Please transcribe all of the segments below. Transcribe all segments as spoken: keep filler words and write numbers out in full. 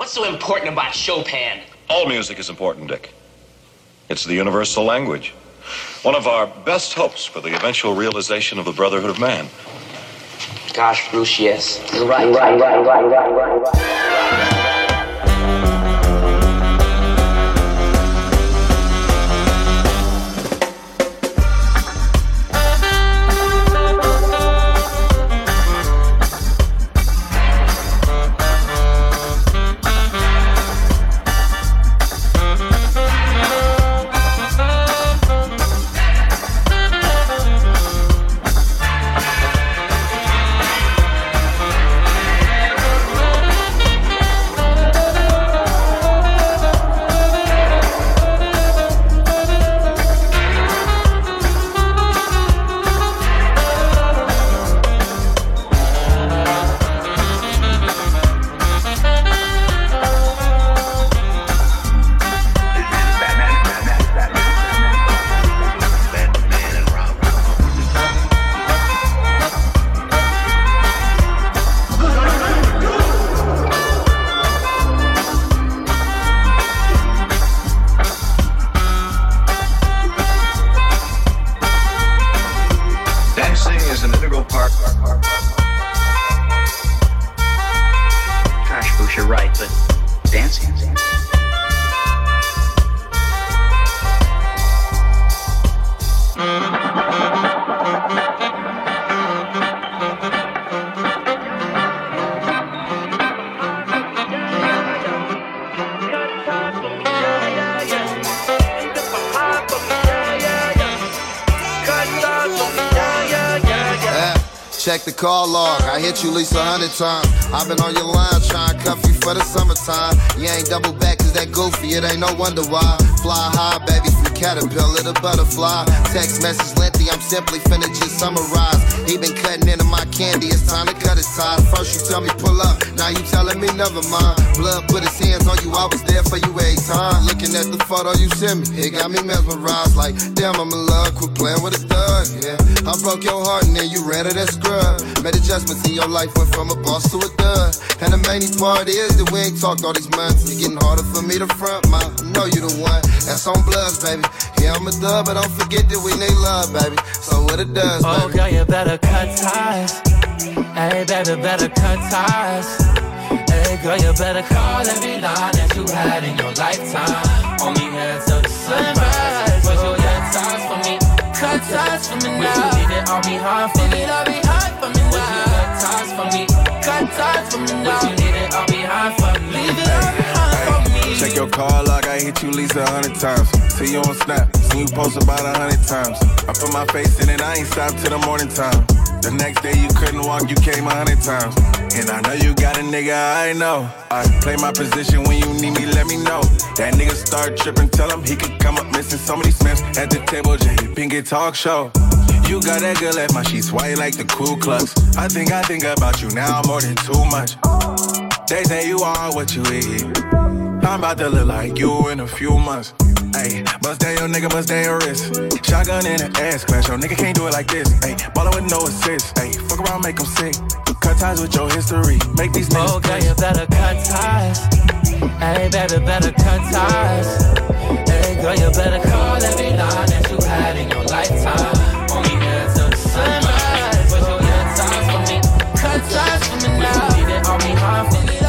What's so important about Chopin? All music is important, Dick. It's the universal language. One of our best hopes for the eventual realization of the brotherhood of man. Gosh, Bruce, yes. You're right. Right, right, right, right, right, right. Check the call log, I hit you at least a hundred times. I've been on your line trying to cuff you for the summertime. You ain't double back cause that goofy, it ain't no wonder why. Fly high, baby, from caterpillar to butterfly. Text message lengthy, I'm simply finna just summarize. He been cutting into my candy, it's time to cut his ties. First you tell me pull up, now you telling me never mind. Blood put his hands on you, I was there for you every time. Looking at the photo you sent me, it got me mesmerized. Like, damn, I'm in love, quit playing with a thug, yeah. I broke your heart and then you ran to that scrub. Made adjustments in your life, went from a boss to a dud. And the main part is that we ain't talked all these months. It's getting harder for me to front, ma. I know you the one, that's on Bloods, baby. Yeah, I'm a dub, but don't forget that we need love, baby. So what it does, baby. Oh, girl, you better cut ties. Hey, baby, better cut ties. Hey, girl, you better call every line that you had in your lifetime. Only here till the sunrise. Put your ties for me. Cut ties for me now. Would you need it all behind for me? All behind for me now. Would you cut ties for me? Cut ties for me now. Would you need it all behind for me? Leave it all behind for me. Check your call log, I hit you at least a hundred times. See you on Snap, seen you post about a hundred times. I put my face in it, I ain't stopped till the morning time. The next day you couldn't walk, you came a hundred times. And I know you got a nigga, I know. I play my position when you need me, let me know. That nigga start tripping, tell him he could come up missing so many Smiths at the table, J Pinkett talk show. You got that girl at my sheets white like the Ku Klux. I think I think about you now more than too much. They say you are what you eat. I'm about to look like you in a few months. Ayy, bust down your nigga, bust down your wrist. Shotgun in the ass clash, your nigga can't do it like this. Ayy, ballin' with no assist. Ayy, fuck around, make him sick. Cut ties with your history, make these niggas. Oh, girl, you better cut ties. Hey, baby, better cut ties. Hey, girl, you better call every line that you had in your lifetime. Only here till the sunrise. Put your ties for me. Cut ties for me now. Would you need it all behind for me?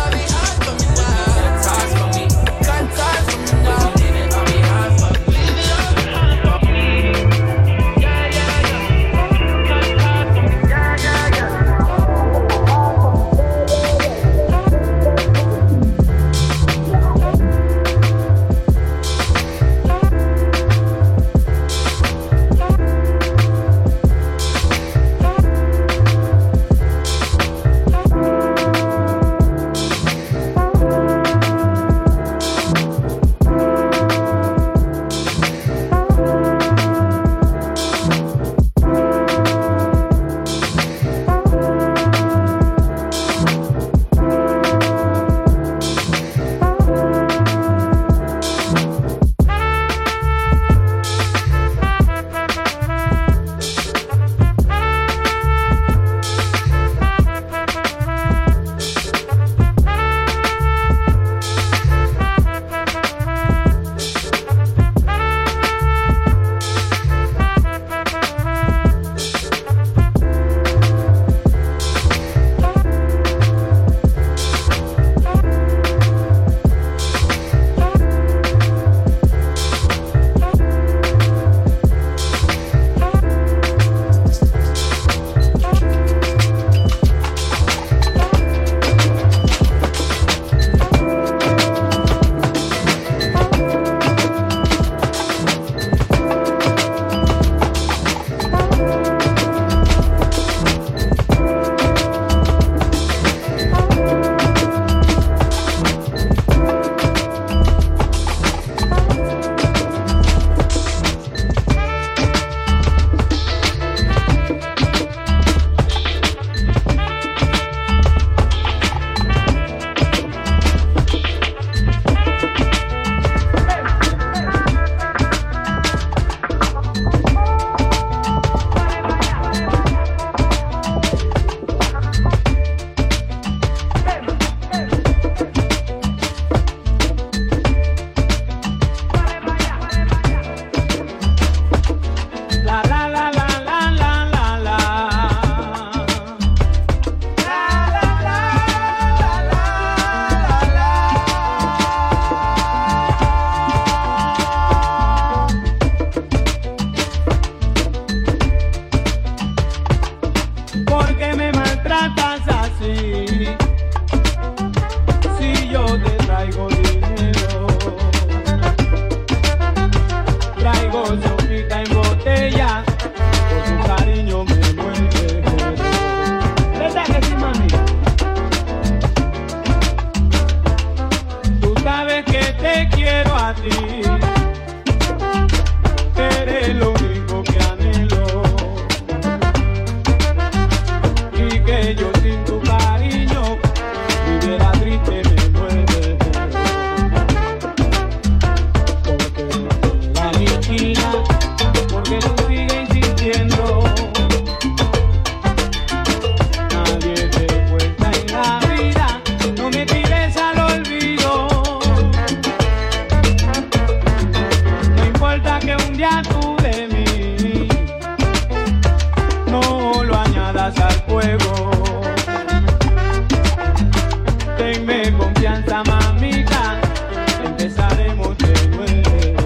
ti. Eres lo único que anhelo. Y que yo sin tu cariño viviera triste me muere. Porque la aniquila, porque tú sigues insistiendo. Nadie te cuenta en la vida, no me tires al olvido. No importa que un día tú de mí no lo añadas al fuego. Tenme confianza, mamita, empezaremos de nuevo.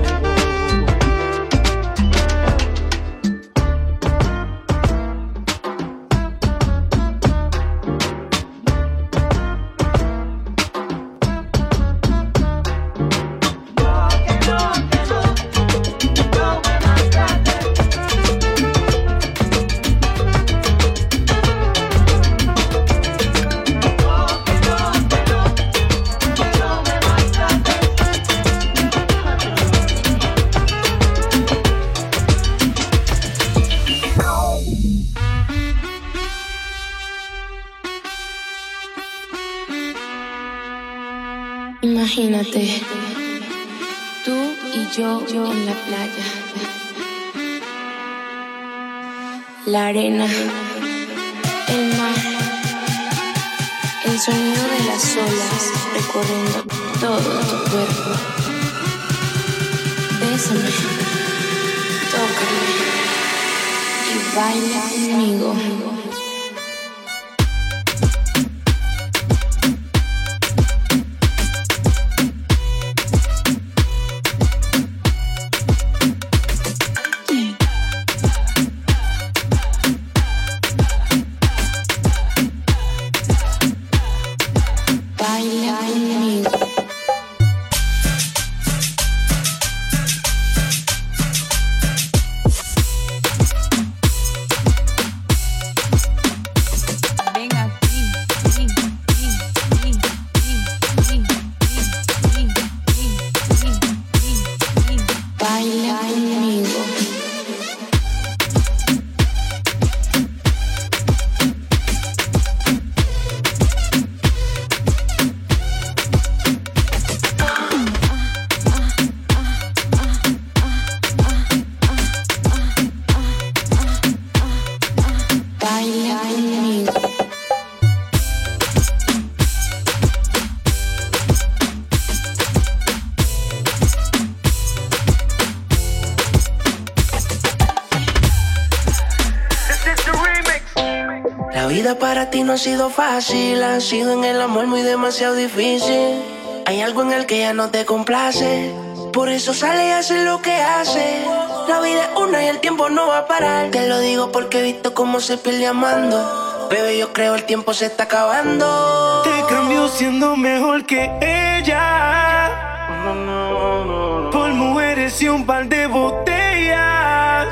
Imagínate, tú y yo, yo en la playa, la arena, el mar, el sonido de las olas recorriendo todo tu cuerpo. Bésame, tócame y baila conmigo. Para ti no ha sido fácil, ha sido en el amor muy demasiado difícil. Hay algo en el que ya no te complace, por eso sale y hace lo que hace. La vida es una y el tiempo no va a parar. Te lo digo porque he visto cómo se pierde amando. Bebé, yo creo el tiempo se está acabando. Te cambio siendo mejor que ella, por mujeres y un par de botellas,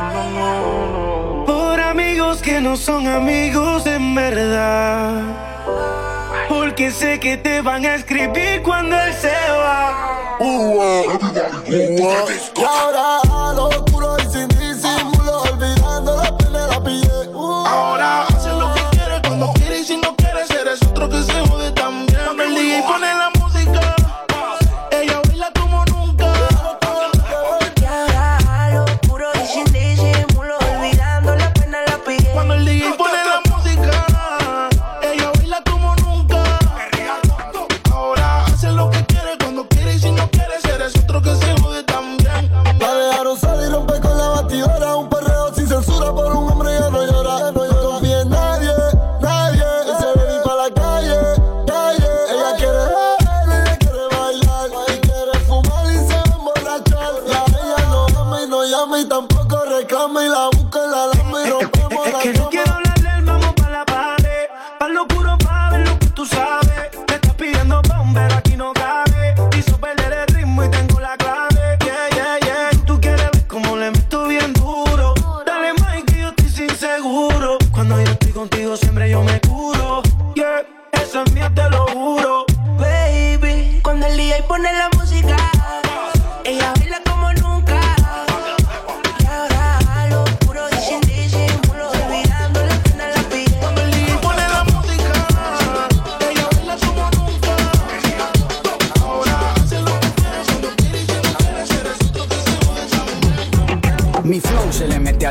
por amigos que no son amigos en verdad, porque sé que te van a escribir cuando él se va. Uh, uh, uh, y ahora lo oscuro y sin disimulo, olvidando la pena la pillé. Uh, ahora haces lo que quieres cuando quieres y si no quieres eres otro que se jode también. Cuando el D J pone la música, ella baila como nunca. Y ahora lo oscuro y sin disimulo, olvidando la pena la pillé. Cuando el D J pone la música, ella baila como nunca. Ahora haces lo que quieres cuando quieres y si no quieres eres otro que se jode también. La dejaron salir y romper con la batidora, un perreo sin censura por un hombre ya no llora. Ya no confía en nadie, nadie. Él se ve ir para la calle, calle. Ella quiere ver, ella quiere bailar y quiere fumar y se va a emborrachar. Ya ella no ama y no llama y tampoco reclama y la busca en la lama y rompemos es la que no quiero hablarle, vamos pa' la pared, pa' lo oscuro pa' ver lo que tú sabes. Me estás pidiendo bomber, aquí no cabe. Hizo perder el ritmo y tengo la clave. Yeah, yeah, yeah. Tú quieres ver cómo le meto bien duro. Dale más que yo estoy sin seguro. Cuando yo estoy contigo siempre yo me curo. Yeah, eso es mío, te lo juro. Baby, cuando el D J pone la música,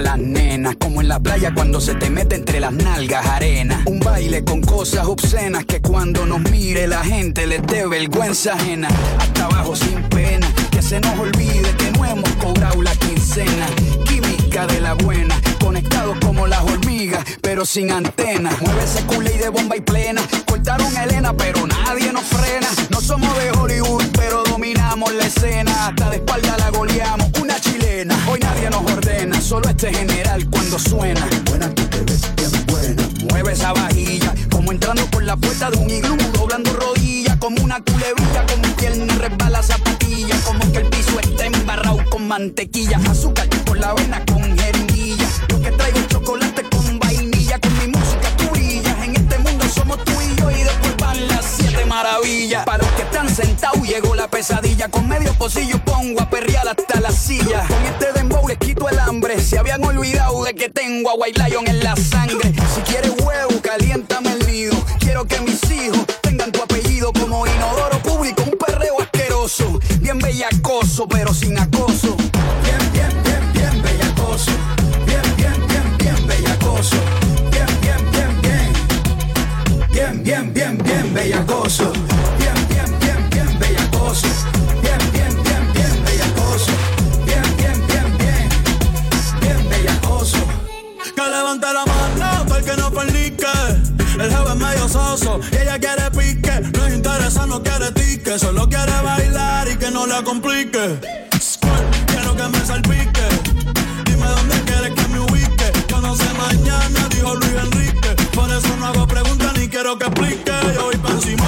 a las nenas, como en la playa cuando se te mete entre las nalgas arena. Un baile con cosas obscenas que cuando nos mire la gente les dé vergüenza ajena. Hasta abajo sin pena, que se nos olvide que no hemos cobrado la quincena. Química de la buena, conectados como las hormigas, pero sin antenas. Mueve ese culé y de bomba y plena. Cortaron a Elena, pero nadie nos frena. No somos de Hollywood, pero dominamos la escena. Hasta de espalda la goleamos, una chilena. Hoy nadie nos ordena, solo este general cuando suena. Buena, tú te ves bien buena. Mueve esa vajilla, como entrando por la puerta de un iglú, doblando rodillas, como una culebrilla, con mi pierna resbala zapatilla, como que el piso está embarrado con mantequilla, azúcar por la avena con jeringuilla. Yo que traigo chocolate con vainilla, con mi música tú brillas. En este mundo somos tú y yo y después van las siete maravillas. Para los que están sentados llegó la pesadilla, con medio pocillo pongo a perrear hasta la silla. Con este dembow les quito el hambre, se habían olvidado de que tengo a White Lion en la sangre. Si quieres huevo, caliéntame el nido. Quiero que mis hijos tengan tu apellido como inodoro público, un perreo asqueroso, bien bellacoso pero sin acoso. Bien, bien, bien, bien bellacoso. Bien, bien, bien, bien bellacoso. Bien, bien, bien, bien. Bien, bien, bien, bien bellacoso. Bien, bien, bien, bien bellacoso. Bien, bien, bien, bien bellacoso. Bien, bien, bien, bien. Bien bellacoso. Que levante la mano para el que no fornique. El jefe es medio soso y ella quiere pique. No es interesa, no quiere tique. Solo quiere bailar y que no la complique. Squirt, quiero que me salpique. Dime dónde quieres que me ubique. Yo no sé mañana, dijo Luis Enrique. Por eso no hago preguntas ni quiero que explique. Yo voy pa' encima,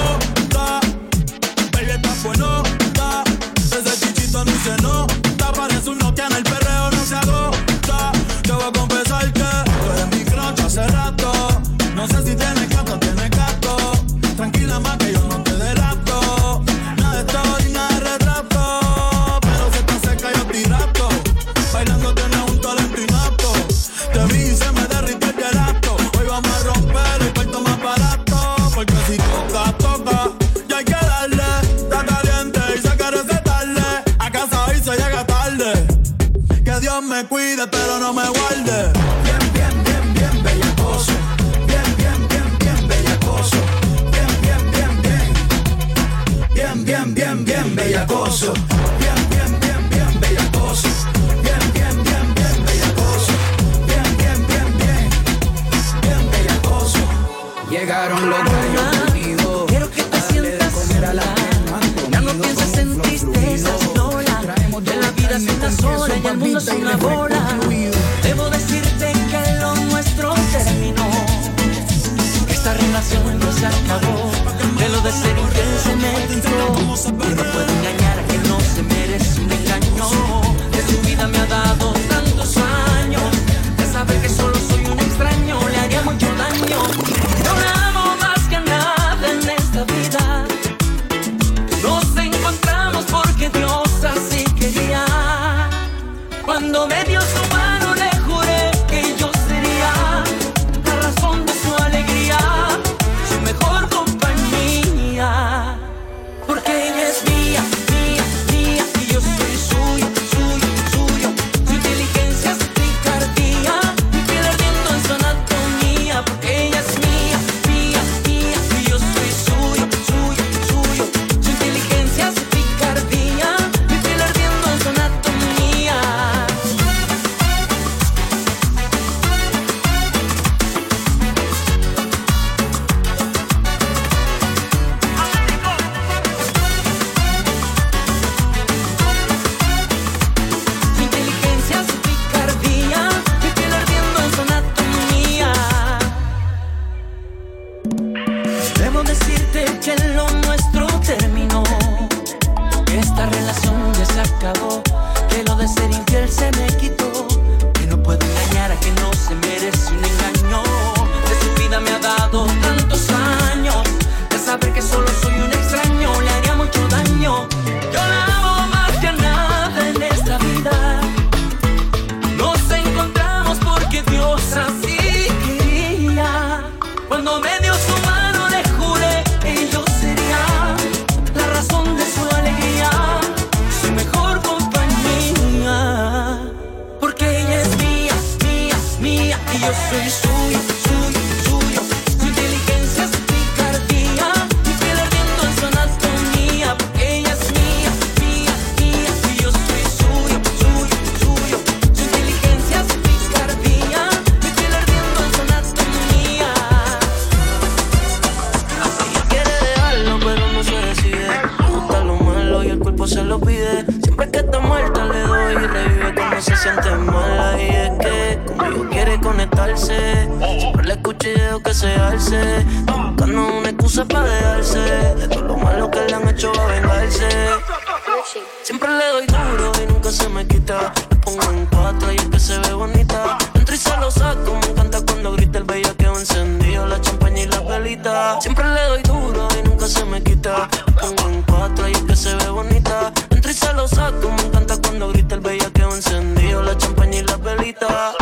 baby, está buenota. Ese chichito ni se nota. Parece un Nokia en el perreo, no se agota. Te voy a confesar que tú eres mi crush hace rato. No sé si tienes gato o tienes gato. Tranquila más que yo no te delato. Nada de story, nada de retrato. Pero si estás cerca yo te rato. Bailando tienes un talento inapto. Te vi y se me derritió el gelato. Hoy vamos a romper el cuarto más barato. Porque si toca, toca, ya hay que darle. Está caliente y se quiere recetarle. A casa hoy se llega tarde. Que Dios me cuide pero no me guarde. Bien, bien, bien, bien bellacoso. Bien, bien, bien, bien bellacoso. Bien, bien, bien, bien. Bien, bien, bien, bien bellacoso. Bien, bien, bien, bien bellacoso. Bien, bien, bien, bien bellacoso. Bien, bien, bien, bien. Bien bellacoso. Llegaron los gallos unidos. Quiero que te sientas sola. Ya no pienses en tristezas, Lola. Que la vida es una sola y el mundo es una bola. Debo decirte que lo nuestro terminó. Que esta relación no se acabó. Que lo de ser infiel se me quitó. Y no puedo engañar a quien no se merece un engaño. Que su vida me ha dado tantos años. De saber que solo soy un extraño le haría mucho daño. Yo la amo más que nada en esta vida. Nos encontramos porque Dios así quería. Cuando me dio su mano le juré que yo sería la razón de su alegría, su mejor compañía. Porque ella es mía, lo pide. Siempre que está muerta le doy y revive cuando se siente mala. Y es que conmigo quiere conectarse. Siempre le escucho y dejo que se alce. Buscando una excusa para dejarse de todo lo malo que le han hecho va a vengarse. Siempre le doy duro y nunca se me quita. Le pongo en cuatro y es que se ve bonita. Entro y se lo saco, me encanta cuando grita el bellaqueo encendido, la champaña y la velita. Siempre le doy duro y nunca se me quita. Le pongo en cuatro y es que se ve bonita. Entro y se lo saco, me encanta cuando grita el bellaqueo encendido, la champaña y la velita.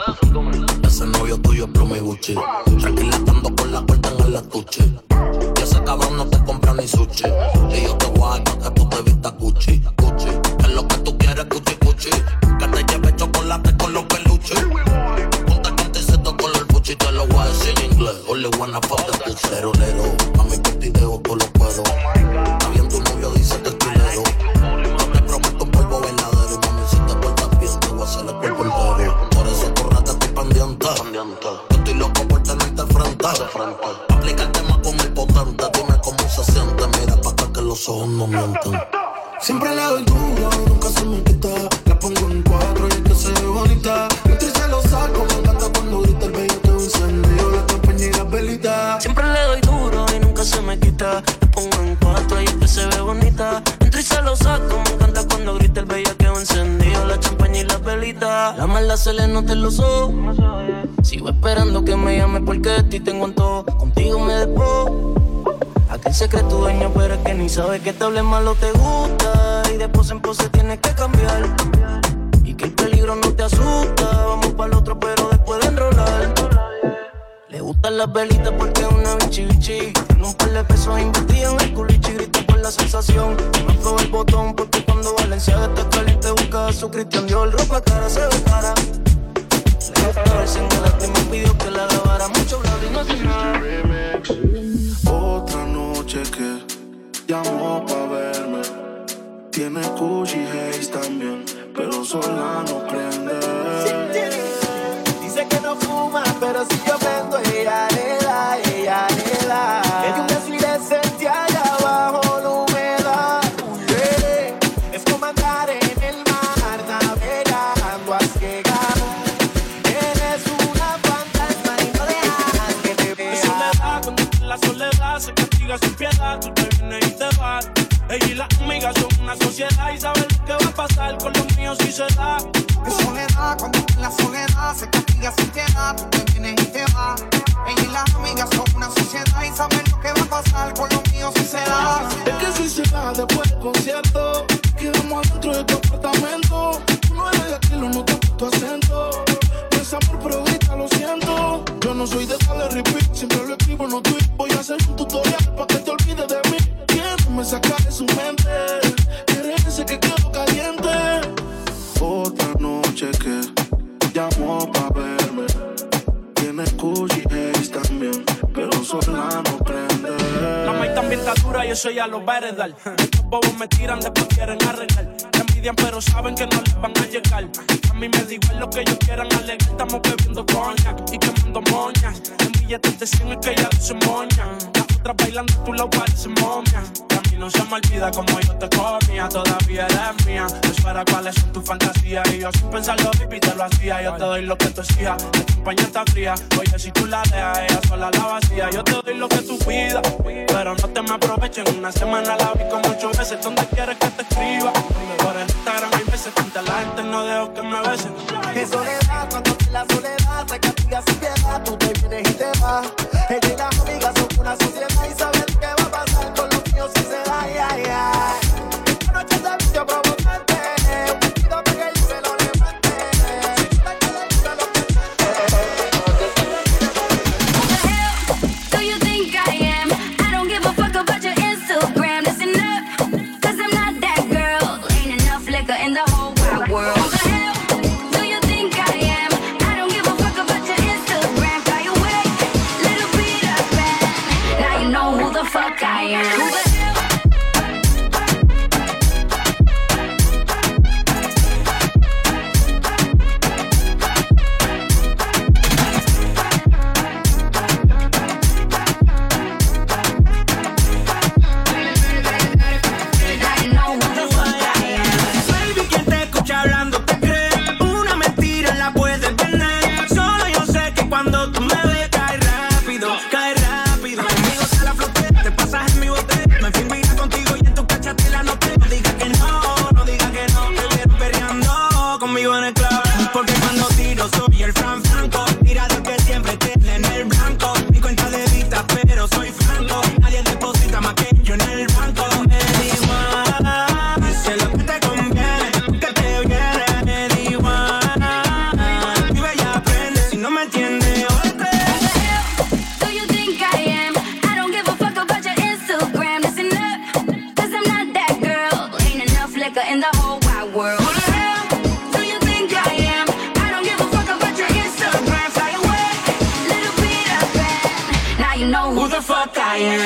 Ese novio tuyo es Plumi Gucci. Tranquila estando con la puerta en el estuche. Y ese cabrón no te compra ni sushi. Y yo te voy a dar pa' que tú te vistas Gucci, Gucci. Es lo que tú quieres, Gucci, Gucci. Que te lleve chocolate con los peluches. Ponte canticito con el puchi. Te lo voy a decir en inglés. Only wanna fuck the pussy. Lero, lero. A mi petideo tú lo puedo. Está bien, tu novio dice que es tilero. No te prometo un polvo verdadero. Mami, si te portas bien, te voy a hacer el cuerpo entero. Por eso corrate, estoy pendiente. Yo estoy loco por tenerte frente. Aplica el tema con el potente. Dime cómo se siente. Mira pa' acá que los ojos no mienten. Siempre le doy duro y nunca se me quita. La pongo en cuatro y es que se ve bonita. Entro y se lo saco, me encanta cuando grita el bellaqueo encendido, la champaña y la velita. Siempre le doy duro y nunca se me quita. La pongo en cuatro y es que se ve bonita. Entro y se lo saco, me encanta cuando grita el bellaqueo encendido, la champaña y la velita. La maldad se le nota en los ojos. Sigo esperando que me llame porque de ti tengo en todo. Contigo me despojo. Aquel secreto dueño, pero es que ni sabe que te hable malo te gusta. Y de pose en pose tienes que cambiar. Y que el peligro no te asusta. Vamos para el otro, pero después de enrolar. Le gustan las velitas porque es una bichi bichi. Tiene un par de pesos invertidos en el culichi. Grita por la sensación. No probé el botón porque cuando Valenciaga está caliente busca a su Cristian Dior. Ropa cara se ve cara. Le gusta verse en el me pidió que la grabara. Mucho bla y no hace nada. Otra noche que llamó pa' verme. Tiene Gucci Haze también, pero sola no prende. Dice que no fuma, pero si yo prendo, ella le da, ella le da. Es un desfile decente allá abajo la humedad. Yeah. Es como andar en el mar, navegando a ciegas. Eres una fantasma y no dejas que te vea. Soledad, cuando la soledad se castiga sin piedad, tú te vienes y te vas. Ella y las amigas son una sociedad y saben lo que va a pasar con los míos si se da. Es soledad, cuando la soledad se castiga sin piedad, tú te vienes y te vas. Ella y las amigas son una sociedad y saben lo que va a pasar con los míos si se da. Es que si se da después del concierto, quedamos adentro de tu apartamento. Tú no eres de aquí, lo noto por tu acento. No es amor, pero grita, lo siento. Yo no soy de darle repeat, siempre lo escribo en los tweets. Voy a hacer un tutorial para que te olvides de mí. Me saca de su mente, quiere ese que quedo caliente. Otra noche que llamó pa' verme. Tiene Gucci Haze también, pero sola no prende. La maíz también está dura y eso ya lo va a heredar. Estos bobos me tiran, después quieren arreglar. Me envidian pero saben que no les van a llegar. A mí me da igual lo que ellos quieran alegar. Estamos bebiendo coña y quemando moñas. En billetes de cien es que ya no se moña. Las otras bailando tú la pareces momia. No se me olvida como yo te comía. Todavía eres mía. Eso era cuáles son tus fantasías. Y yo sin pensarlo, baby, te lo hacía. Yo te doy lo que tú exijas. La champaña está fría. Oye, si tú la dejas, ella sola la vacía. Yo te doy lo que tú pidas, pero no te me aprovechen. Una semana la vi con muchos veces. ¿Dónde quieres que te escriba? Por el Instagram hay veces que ante la gente no dejo que me besen. Es soledad, cuando la soledad se castiga sin piedad, tú te vienes y te vas. Ella y las amigas son una sociedad y saben qué va a pasar con los míos si se da. Ay, ay, ay. Esta noche se vistió provocante. Un vestido que yo se lo levante. Si tú te quedas, yo te lo Do you think I am? I don't give a fuck about your Instagram. Listen up, cause I'm not that girl. Ain't enough liquor in the whole wide world. Who the hell do you think I am? la calle.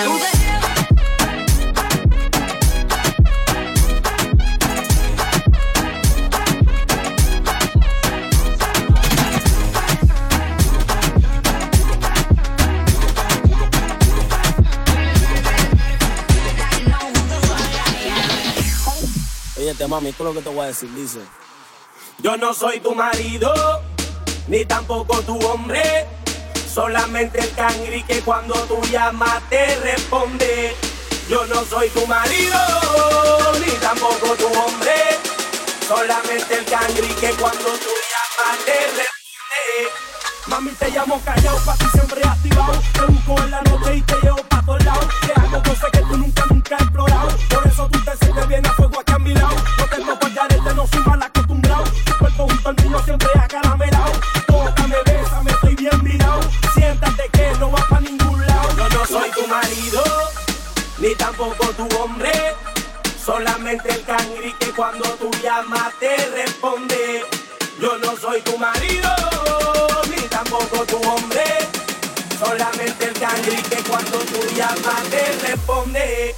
Oye, mami, esto es lo que te voy a decir, dice. Yo no soy tu marido, ni tampoco tu hombre. Solamente el cangri que cuando tú llamas te responde. Yo no soy tu marido, ni tampoco tu hombre. Solamente el cangri que cuando tú llamas te responde. Mami, te llamo callado, pa' ti siempre activado. Te busco en la noche y te llevo pa' todos lados. Te hago cosas que tú nunca, nunca has explorado. Por eso tú te sientes bien a fuego aquí a mi lado. No tengo guardarete, no soy mal acostumbrado. Tu cuerpo junto al mío siempre acaramelado. Tócame, bésame, estoy bien mirado. Siéntate que no vas pa' ningún lado. Yo no soy tu marido, ni tampoco tu hombre. Solamente el cangri que cuando tú llamas te responde. Yo no soy tu marido, ni tampoco tu hombre. Solamente el cangri que cuando tú llamas te responde.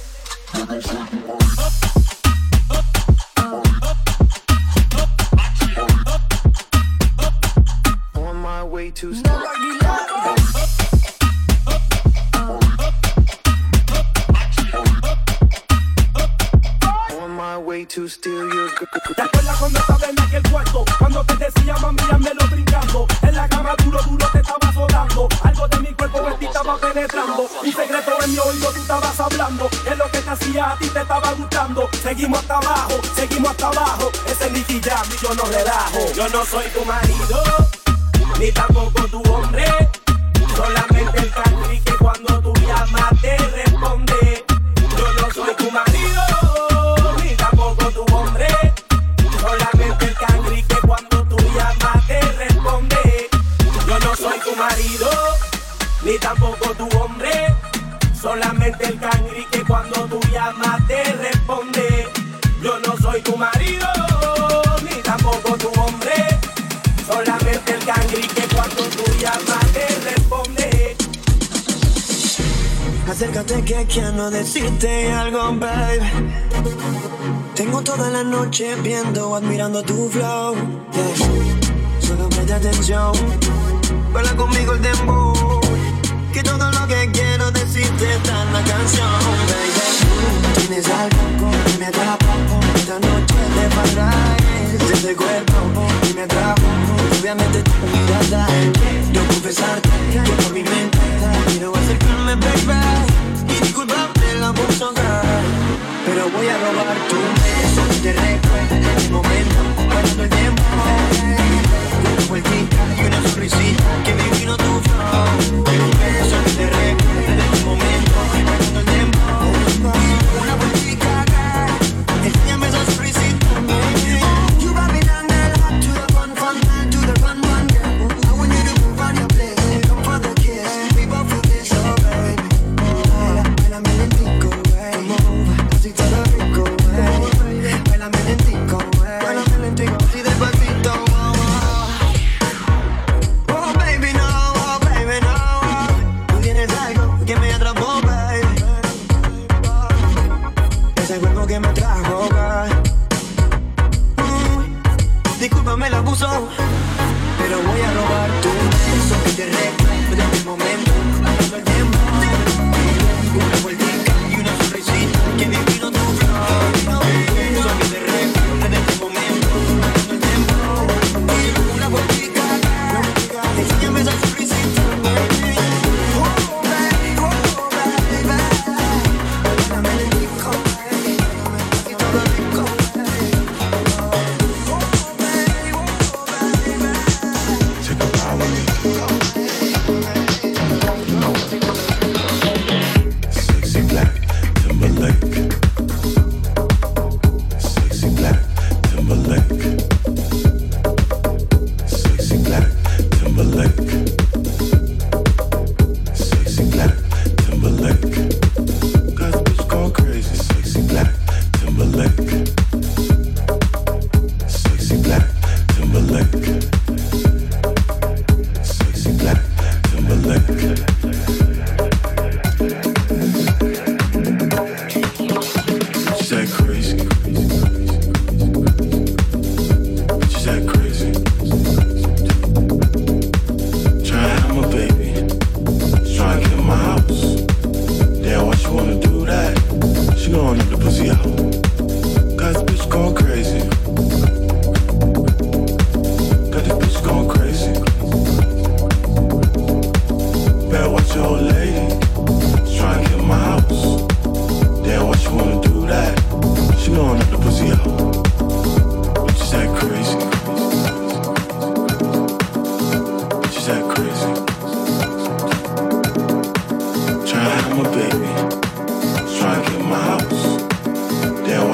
On my way to On my way to steal your girl. ¿Te acuerdas cuando estaba en aquel cuarto? Cuando te decía mami, lo brincando. En la cama duro, duro te estaba solando. Algo de mi cuerpo en ti estaba penetrando. Un secreto en mi oído tú estabas hablando. Es lo que te hacía a ti te estaba gustando. Seguimos hasta abajo, seguimos hasta abajo. Ese es Nicky Jam y yo no relajo. Yo no soy tu marido, ni tampoco tu hombre. Solamente el cangri que cuando tú llamas te responde. Yo no soy tu marido, ni tampoco tu hombre. Solamente el cangri que cuando tú llamas te responde. Yo no soy tu marido, ni tampoco tu hombre. Solamente el cangri que cuando tú llamas te responde. Yo no soy tu marido, ni tampoco tu hombre. Solamente el cangri que cuando tú llamas te responde. Acércate que quiero decirte algo, babe. Tengo toda la noche viendo, admirando tu flow. Yeah. Solo presta atención, baila conmigo el dembow. Que todo lo que quiero decirte está en la canción, baby. Tienes algo que me atrapa, esta noche te paráis de ese cuerpo y me atrapo. Obviamente tu mirada, quiero confesarte que por mi mente quiero acercarme, baby. Y disculpame la abuso, pero voy a robar tu beso. Te recuerdo en el momento, guardando el tiempo. Una vueltita y una sonrisita que me vino tu flow. Un beso que te recuerdo en el momento, guardando el tiempo. Una vueltita, enséñame esa sonrisita. You got me down there, hot to the fun, fun, to the fun, fun. I want you to move on your place, come for the kiss. We both feel this, oh baby. Bailame lentico, wey. Así todo rico, wey. Bailame lentico, wey. Bailame lentico, así despacito, wow, wow. Oh baby, no, oh baby, no. Tú tienes algo que me atrapó, baby. Ese cuerpo que me trajo, baby. Mm, discúlpame el abuso, pero voy a robar tu beso que te recuerdo en el momento, pasando el tiempo. Una vueltita y una sonrisita que me vino tu flow. Un beso que te recuerdo en el momento, pasando el tiempo. Una vueltita, enséñame esa sonrisita. Oh, baby, oh, baby. Bailame lentico, baby. Y todo rico, baby. Oh, baby, oh, baby. Take a power leap. Sexy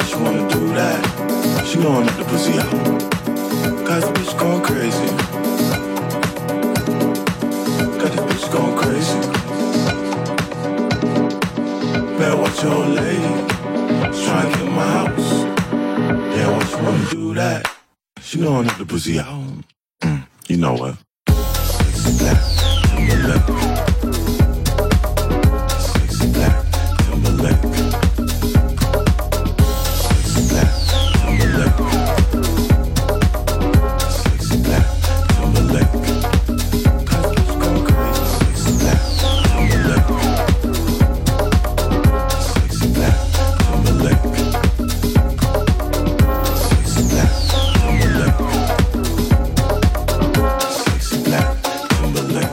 she wanna do that. She gonna let the pussy out. Got this bitch going crazy. Got this bitch going crazy. Better watch your old lady. She's trying to get in my house. Yeah, why she wanna do that? She gonna let the pussy out. Mm, you know what? Sexy black, Timberlake. Sexy black, Timberlake. Sexy black, Timberlake. Sexy black, Timberlake. Got this bitch going crazy. Sexy black, Timberlake. Sexy black, Timberlake. Sexy black, Timberlake. Sexy black, Timberlake.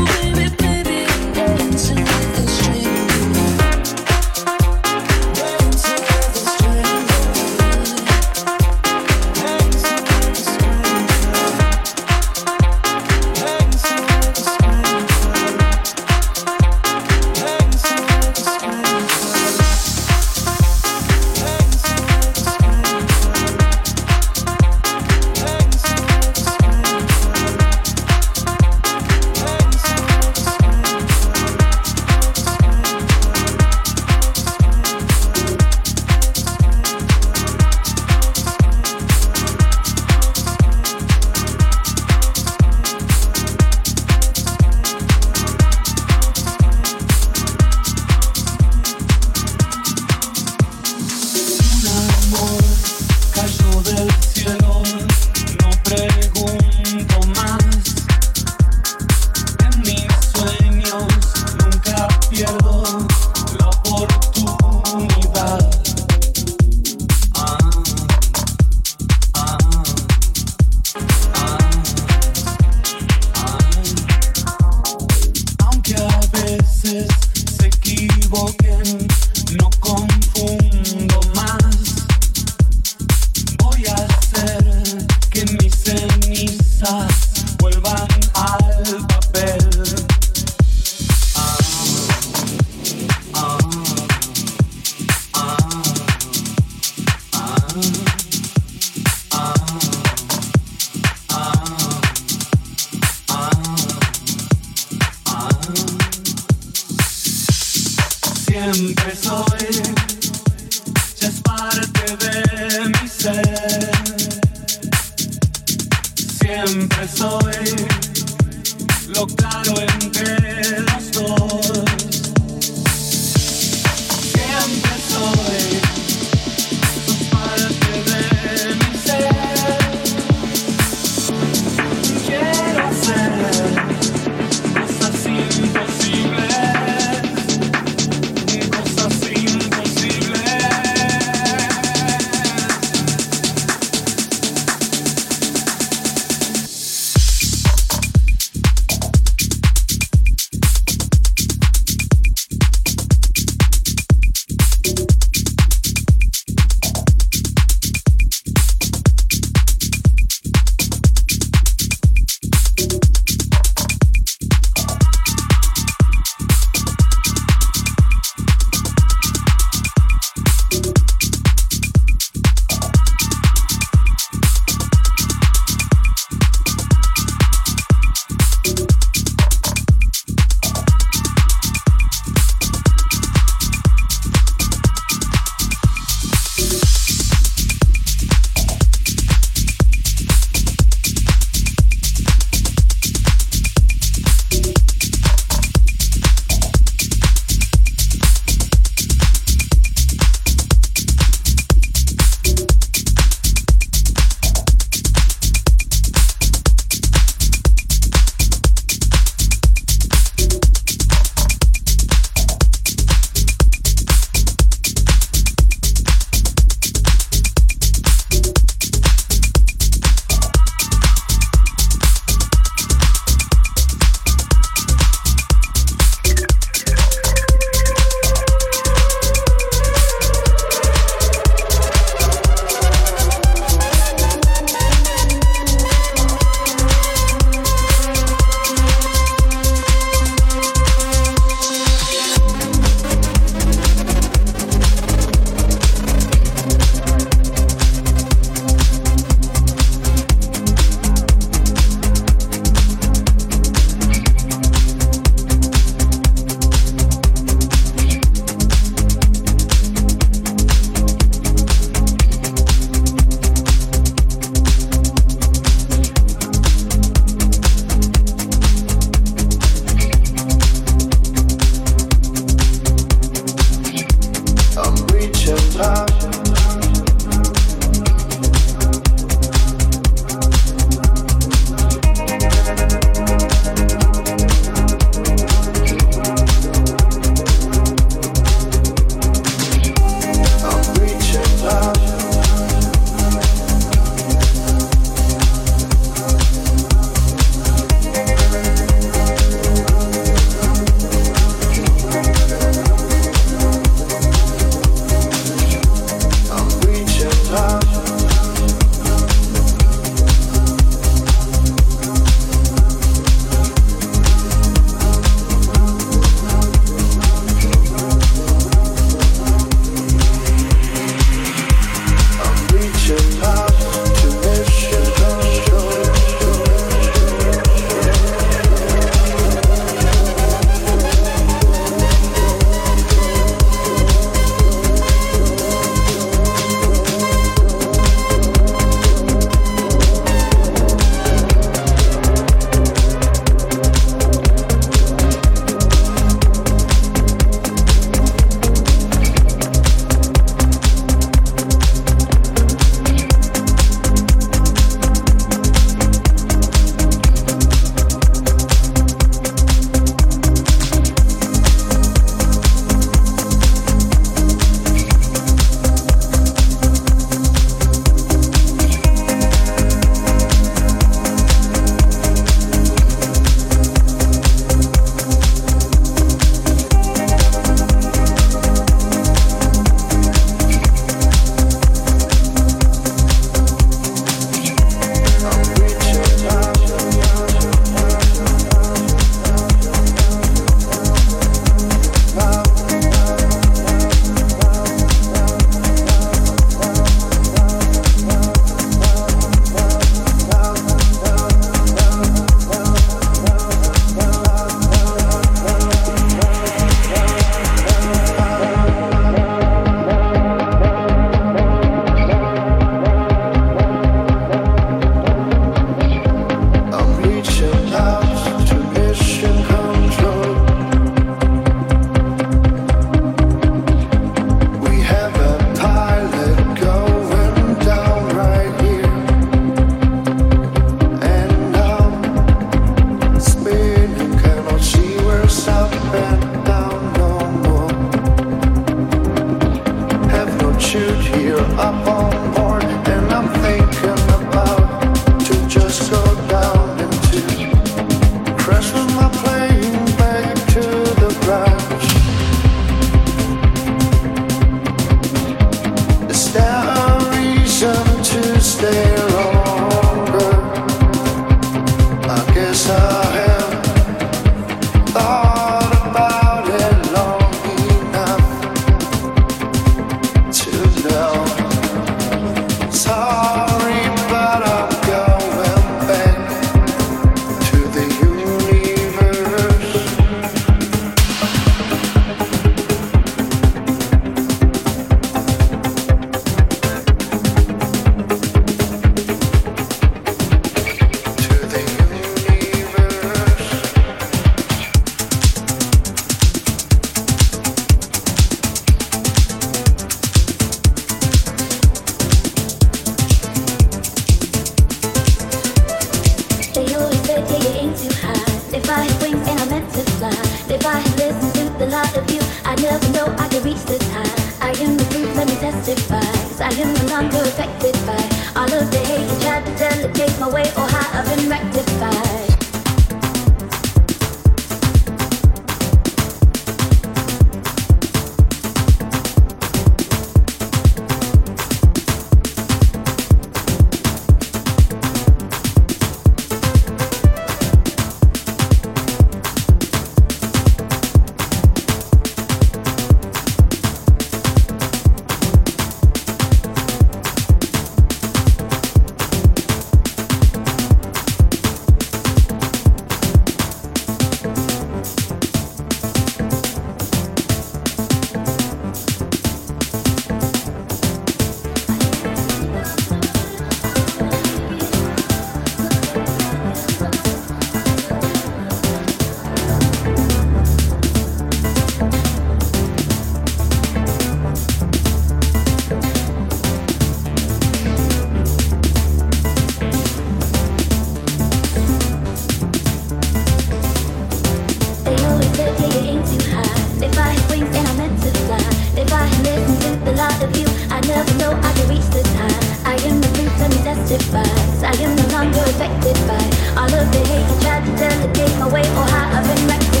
lot of you. I never know I can reach this high. I am the proof, let me testify. 'Cause I am no longer affected by all of the hate you tried to delegate my way or how I've been rectified.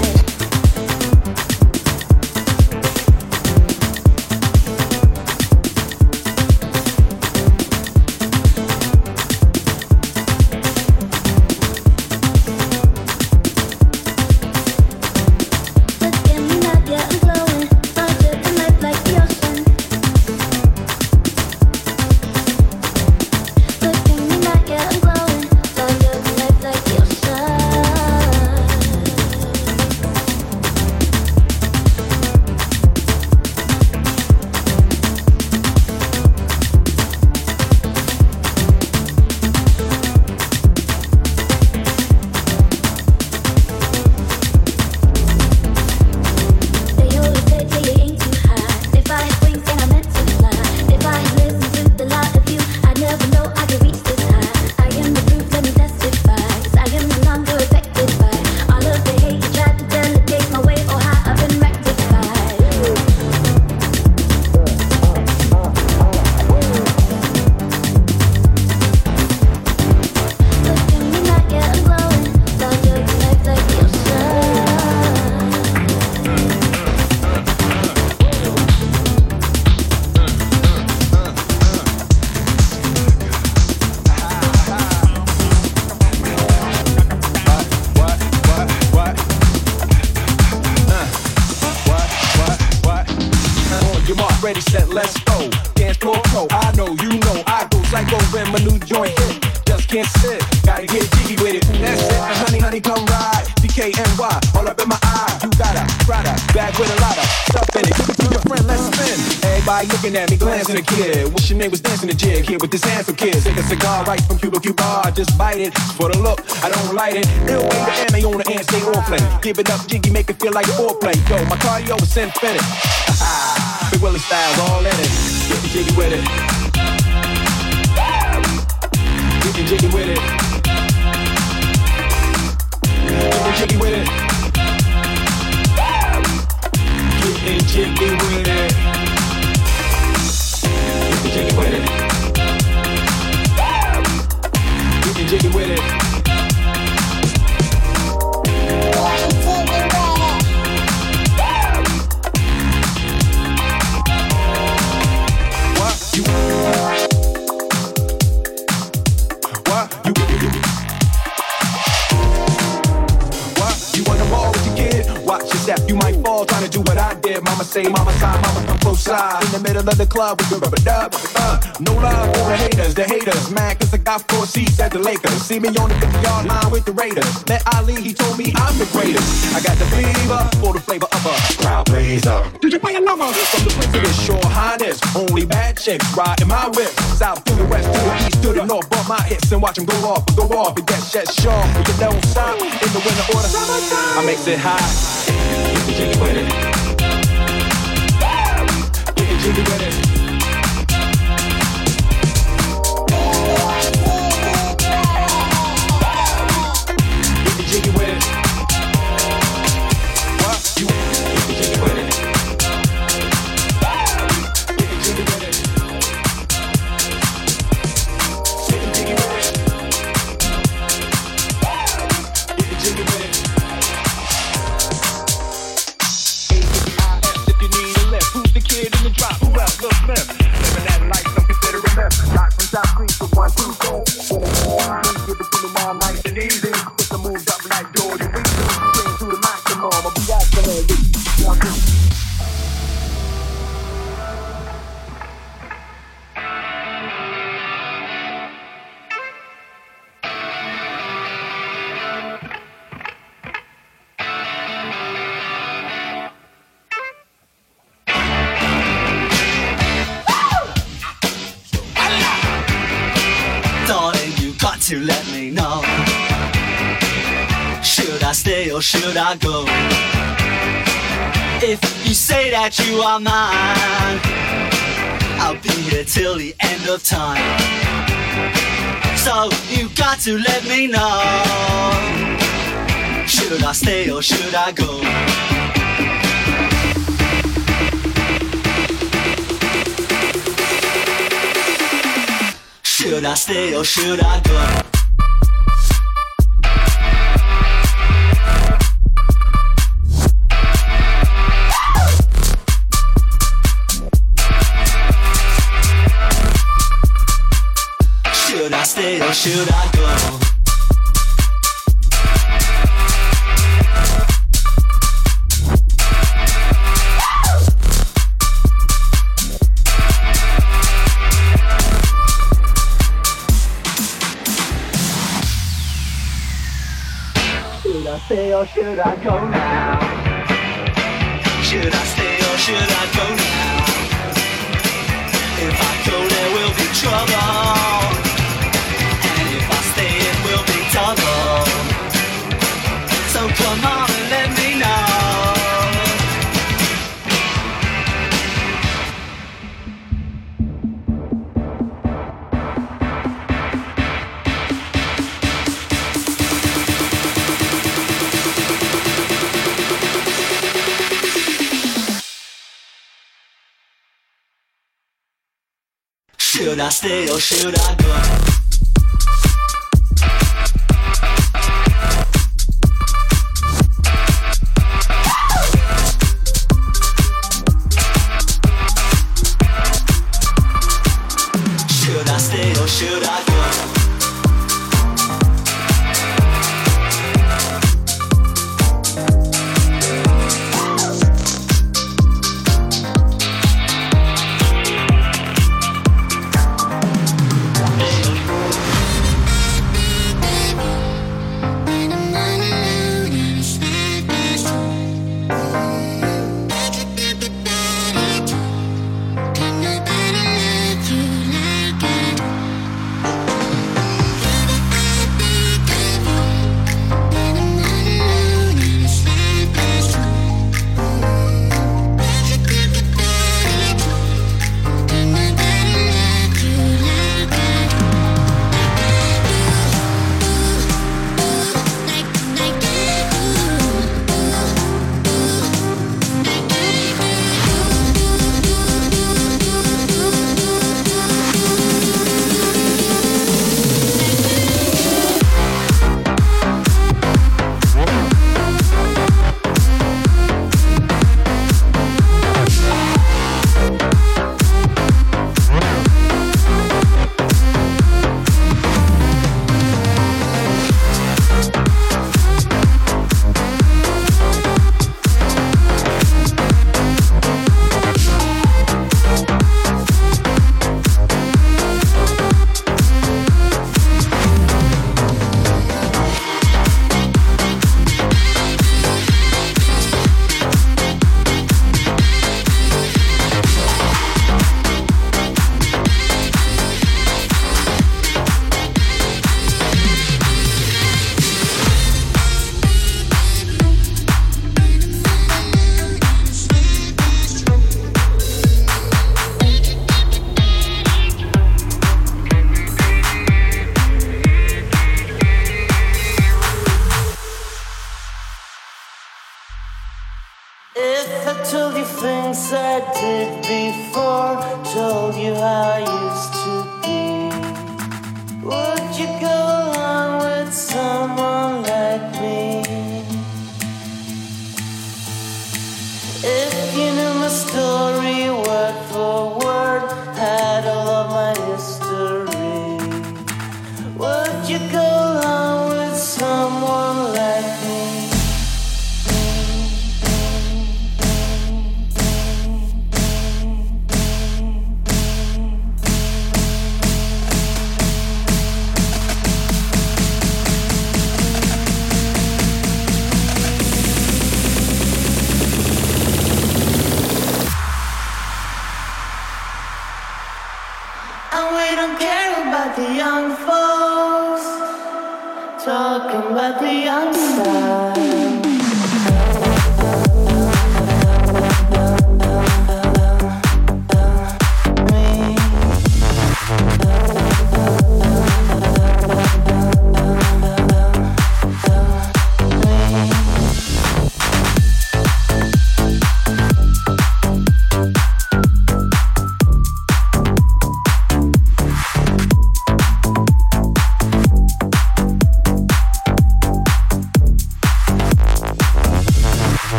Ready, set, let's go. Dance floor pro, I know, you know, I go psycho when my new joint hit. Just can't sit, gotta get jiggy with it. That's it, and honey, honey, come ride. D K N Y, all up in my eye. You got a Prada, bag with a lot of stuff in it. Give it to your friend, let's spin. Everybody looking at me, glancing a kid. Wish your name was dancing a jig here with this handsome kid. Take a cigar right from Cuba Cuba, just bite it. For the look, I don't light it. Ill way the M A on the end, stay on play. Give it up, jiggy, make it feel like foreplay. Yo, my cardio is infinite. Big Willie style's all in it. Get the jiggy with it. Get the jiggy with it. Get the jiggy with it. Get the jiggy with it. Get the jiggy with it. Get the jiggy with it. You might fall trying to do what I did. Mama say, mama side, mama come close side. In the middle of the club with the rubber dub. Uh, no love for the haters, the haters. Mad cause I got four seats at the Lakers. See me on the fifty yard line with the Raiders. Met Ali, he told me I'm the greatest. I got the fever for the flavor of a crowd pleaser. Did you play a number? From the prince of this shore highness. Only bad chicks riding my whip. South to the west, to the east, to the north. Bump my hips and watch them go off, go off. And get shut sharp. You don't stop in the winter order. I makes it high. Get the jiggy with it. Get the jiggy with it. Get the jiggy with it. What? You get the jiggy with it. Get the jiggy with it. Get the jiggy with it. Get the jiggy with it. Who's the kid in the drop? Who else? Lil Smith. Living that life, some consider it myth. Locked from South Creek to one, two, go. Give it to me all nice and easy. Put the moves up like Jordan. We bring to the maximum. I'll be out there. One, two. To let me know, should I stay or should I go? If you say that you are mine, I'll be here till the end of time. So you got to let me know, should I stay or should I go? I stay or should I go? Should I stay or should I go? Should I stay or should I go now? Should I stay or should I go now? If I go there will be trouble, and if I stay it will be double. So come on and let me know. Should I stay or should I go? Should I stay or should I go? If I told you things I did before, told you how I used to be, would you go along with someone like me? If you knew my story word for word, had all of my history, would you go along with someone like me? The young folks talking about the young style.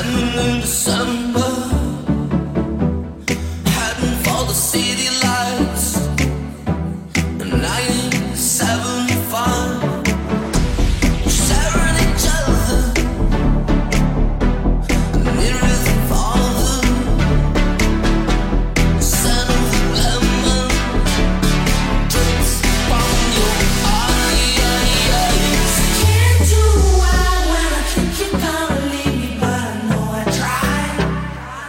standing in December, heading for the city lights. nineteen seventy-five, sharing each other, near the father, scent of lemon drips from your eyes. Can't do wild when I think you're gonna leave me, but I know I tried.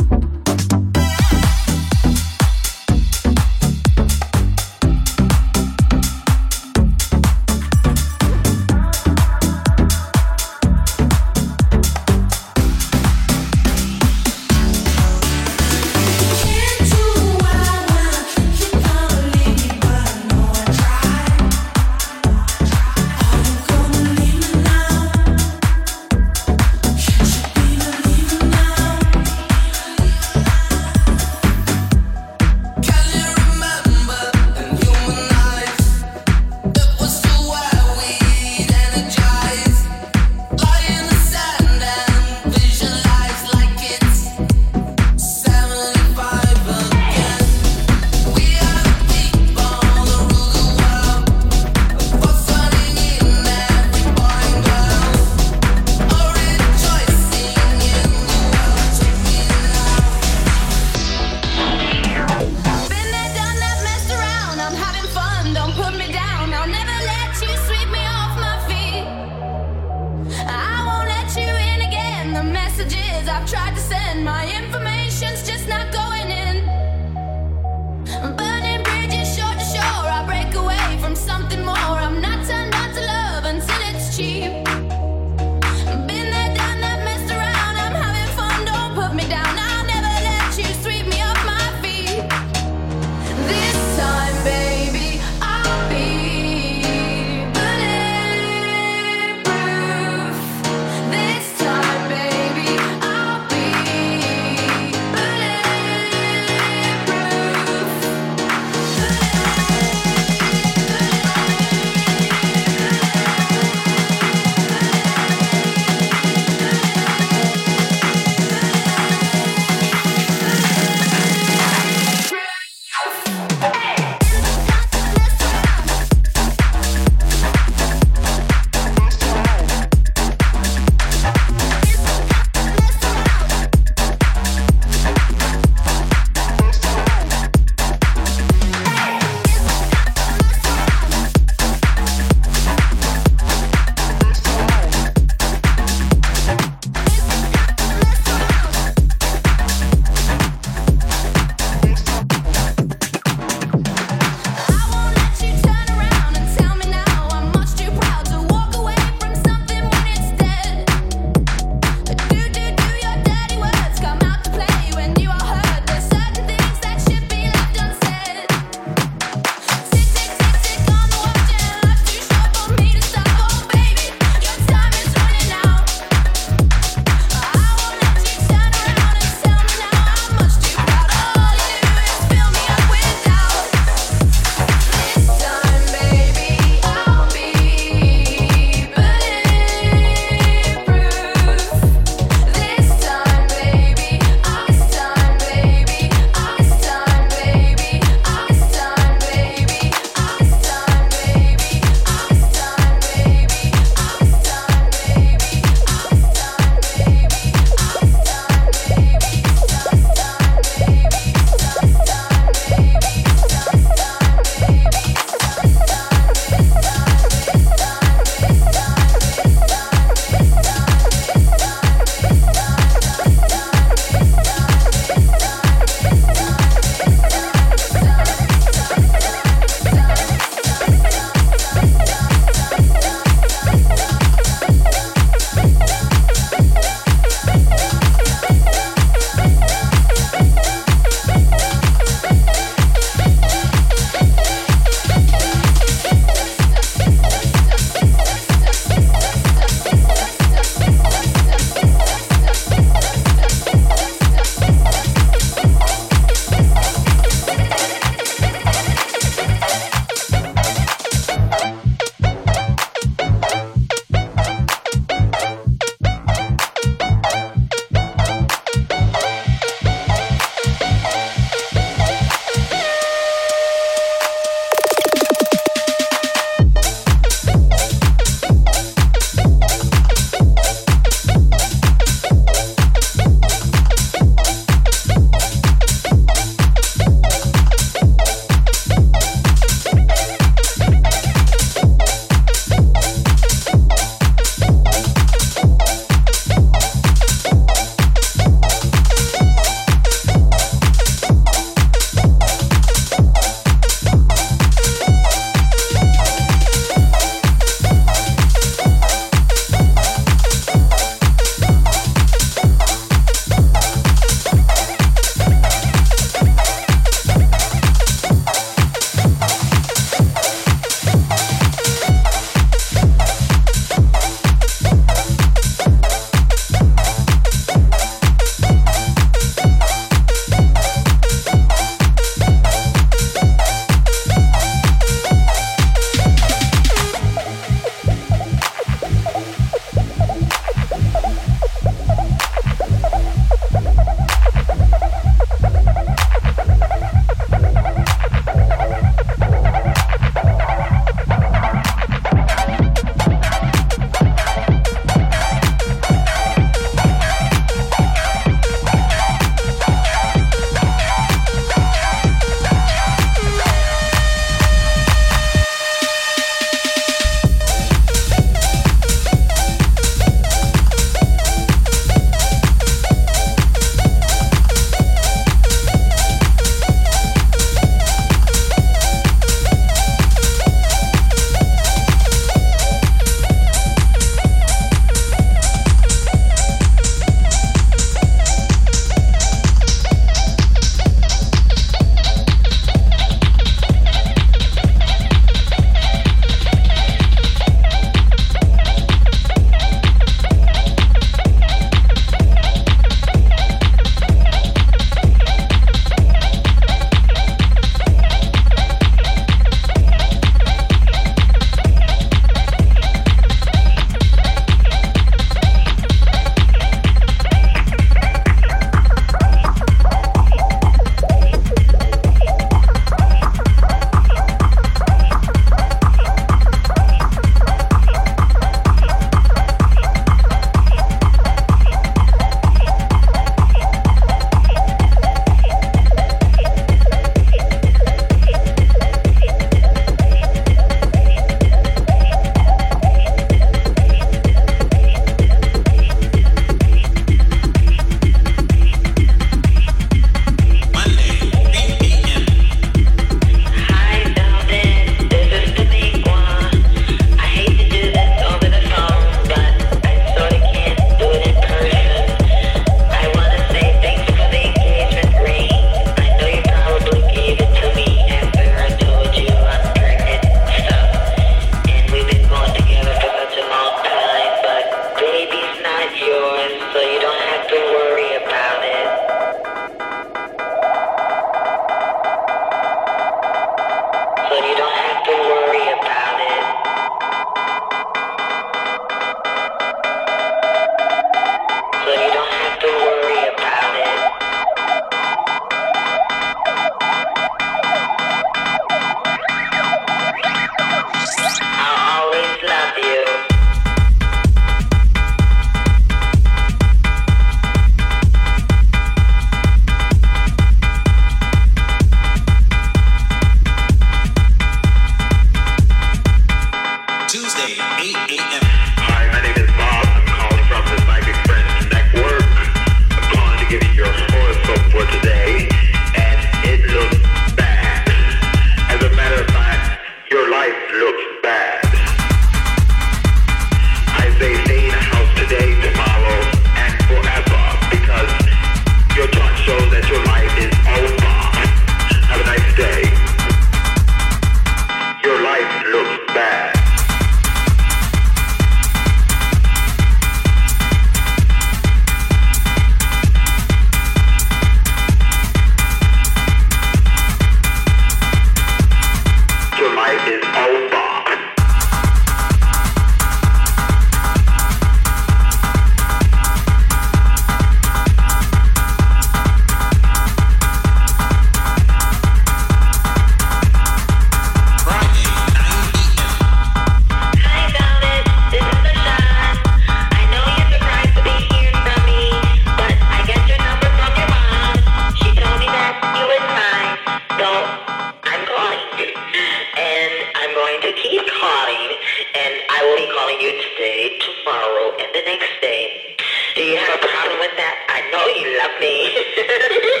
have a problem with that. I know you love me.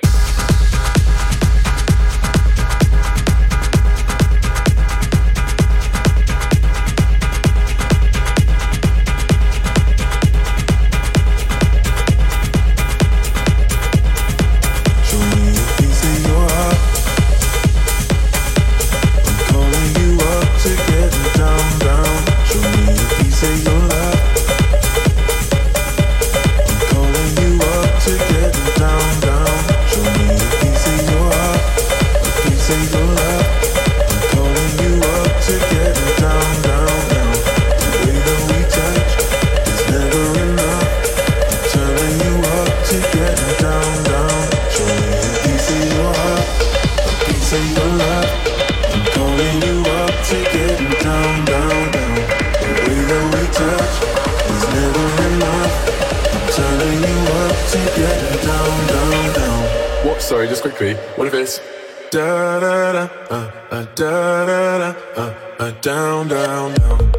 Sorry, just quickly. What if it's da da da uh, uh, da da da uh, uh, down down down.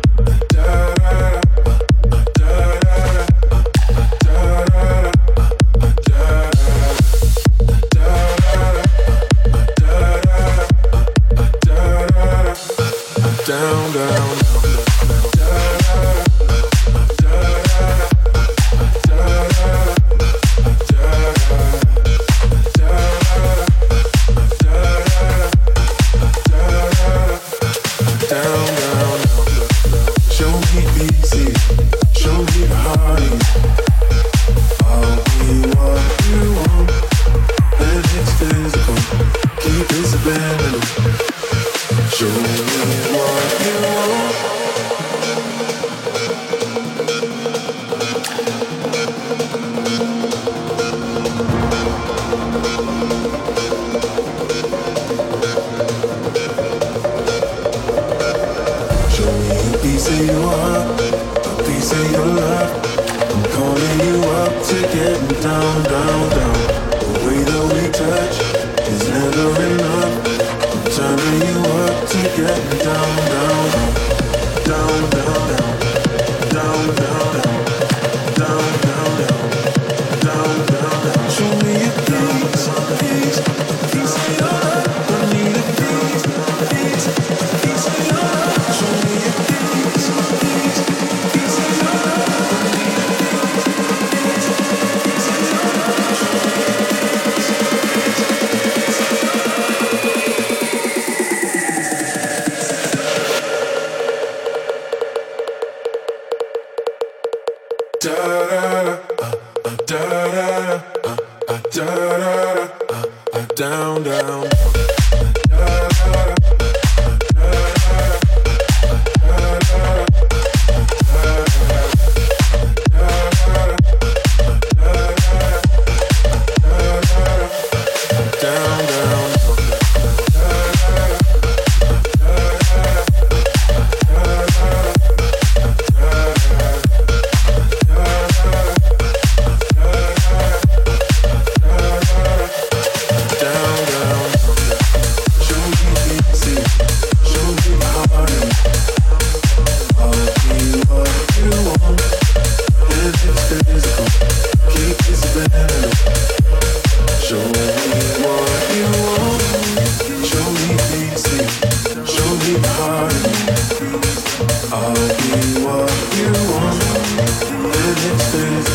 Down, down.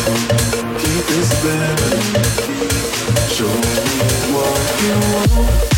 Show me what you want.